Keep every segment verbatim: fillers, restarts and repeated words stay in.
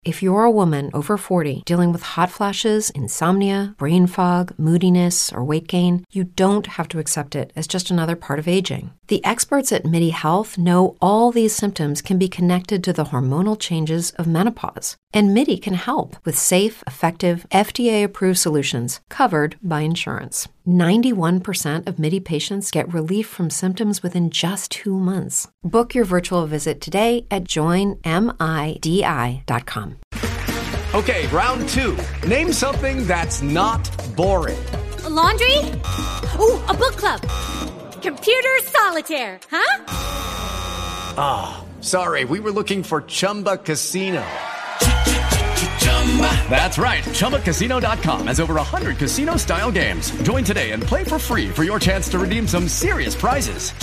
If you're a woman over forty dealing with hot flashes, insomnia, brain fog, moodiness, or weight gain, you don't have to accept it as just another part of aging. The experts at MIDI Health know all these symptoms can be connected to the hormonal changes of menopause. And MIDI can help with safe, effective, F D A-approved solutions covered by insurance. ninety-one percent of MIDI patients get relief from symptoms within just two months. Book your virtual visit today at join midi dot com. Okay, round two. Name something that's not boring. A laundry? Ooh, a book club. Computer solitaire, huh? Ah, oh, sorry, we were looking for Chumba Casino. That's right. Chumba Casino dot com has over one hundred casino-style games. Join today and play for free for your chance to redeem some serious prizes.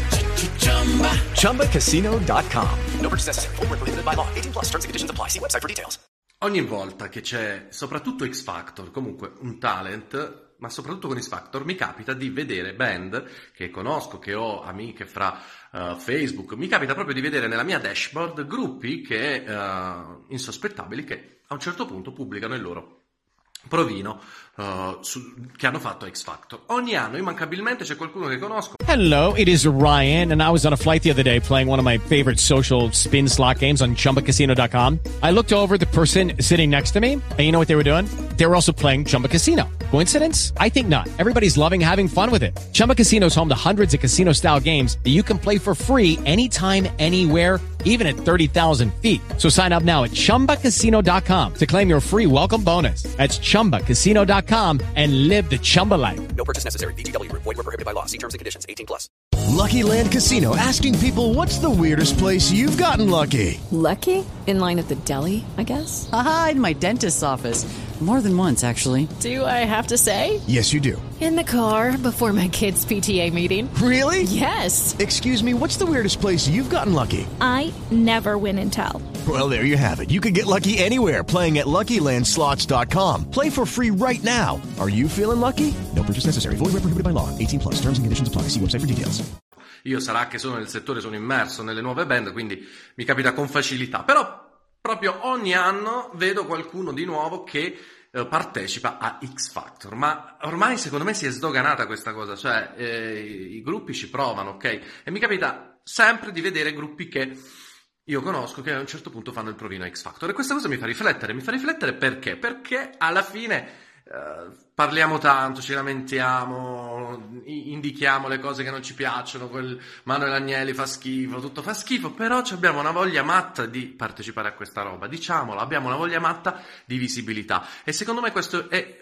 Chumba Casino dot com. No purchase necessary. Void where prohibited by law. eighteen plus. Terms and conditions apply. See website for details. Ogni volta che c'è soprattutto X Factor, comunque un talent, ma soprattutto con X Factor, mi capita di vedere band che conosco, che ho amiche fra uh, Facebook, mi capita proprio di vedere nella mia dashboard gruppi che uh, insospettabili che a un certo punto pubblicano il loro provino uh, su, che hanno fatto X Factor. Ogni anno immancabilmente c'è qualcuno che conosco. Hello, it is Ryan, and I was on a flight the other day playing one of my favorite social spin slot games on Chumba Casino dot com. I looked over at the person sitting next to me, and you know what they were doing? They were also playing Chumba Casino. Coincidence? I think not. Everybody's loving having fun with it. Chumba Casino is home to hundreds of casino-style games that you can play for free anytime, anywhere, even at thirty thousand feet. So sign up now at Chumba Casino dot com to claim your free welcome bonus. That's Chumba Casino dot com and live the Chumba life. No purchase necessary. V G W. Void where prohibited by law. See terms and conditions. eighteen plus. Lucky Land Casino, asking people, what's the weirdest place you've gotten lucky? Lucky? In line at the deli, I guess? Aha, in my dentist's office. More than once, actually. Do I have to say? Yes, you do. In the car before my kids' P T A meeting. Really? Yes. Excuse me, what's the weirdest place you've gotten lucky? I never win and tell. Well, there you have it. You can get lucky anywhere, playing at Lucky Land Slots dot com. Play for free right now. Are you feeling lucky? No purchase necessary. Void where prohibited by law. eighteen plus. Terms and conditions apply. See website for details. Io sarà che sono nel settore, sono immerso nelle nuove band, quindi mi capita con facilità. Però proprio ogni anno vedo qualcuno di nuovo che eh, partecipa a X Factor. Ma ormai secondo me si è sdoganata questa cosa, cioè eh, i gruppi ci provano, ok? E mi capita sempre di vedere gruppi che io conosco che a un certo punto fanno il provino a X Factor. E questa cosa mi fa riflettere. Mi fa riflettere perché? Perché alla fine Uh, parliamo tanto, ci lamentiamo, indichiamo le cose che non ci piacciono, quel Manuel Agnelli fa schifo, tutto fa schifo, però abbiamo una voglia matta di partecipare a questa roba, diciamolo, abbiamo una voglia matta di visibilità e secondo me questo è,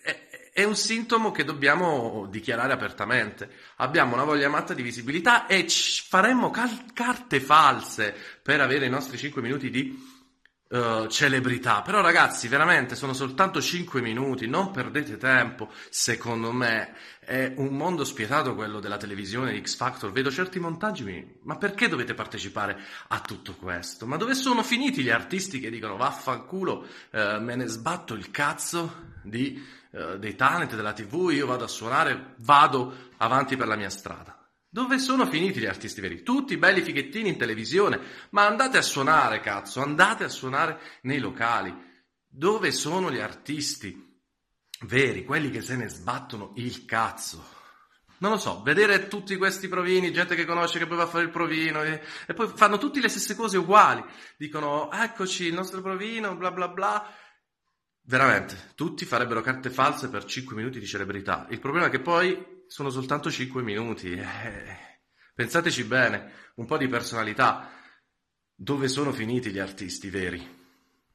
è, è un sintomo che dobbiamo dichiarare apertamente. Abbiamo una voglia matta di visibilità e ci faremmo cal- carte false per avere i nostri cinque minuti di Uh, celebrità. Però ragazzi, veramente sono soltanto cinque minuti, non perdete tempo. Secondo me è un mondo spietato quello della televisione di X Factor. Vedo certi montaggi, mi... ma perché dovete partecipare a tutto questo? Ma dove sono finiti gli artisti che dicono vaffanculo, uh, me ne sbatto il cazzo di, uh, dei talent della tivù, io vado a suonare, vado avanti per la mia strada? Dove sono finiti gli artisti veri? Tutti belli fighettini in televisione, ma andate a suonare, cazzo, andate a suonare nei locali. Dove sono gli artisti veri, quelli che se ne sbattono il cazzo? Non lo so, vedere tutti questi provini, gente che conosce che poi va a fare il provino e, e poi fanno tutte le stesse cose uguali. Dicono, eccoci, il nostro provino, bla bla bla. Veramente, tutti farebbero carte false per cinque minuti di celebrità. Il problema è che poi sono soltanto cinque minuti. Eh, pensateci bene, un po' di personalità. Dove sono finiti gli artisti veri?